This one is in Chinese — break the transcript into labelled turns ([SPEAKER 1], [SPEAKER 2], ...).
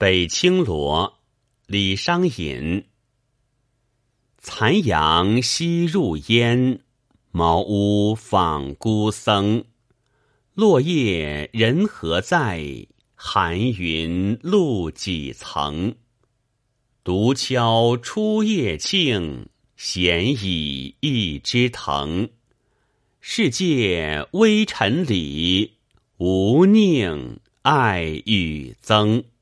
[SPEAKER 1] 北青罗，李商隐。残阳西入烟，茅屋访孤僧。落叶人何在？寒云露几层。独敲初夜磬，闲倚一枝藤。世界微尘里，无宁爱与憎。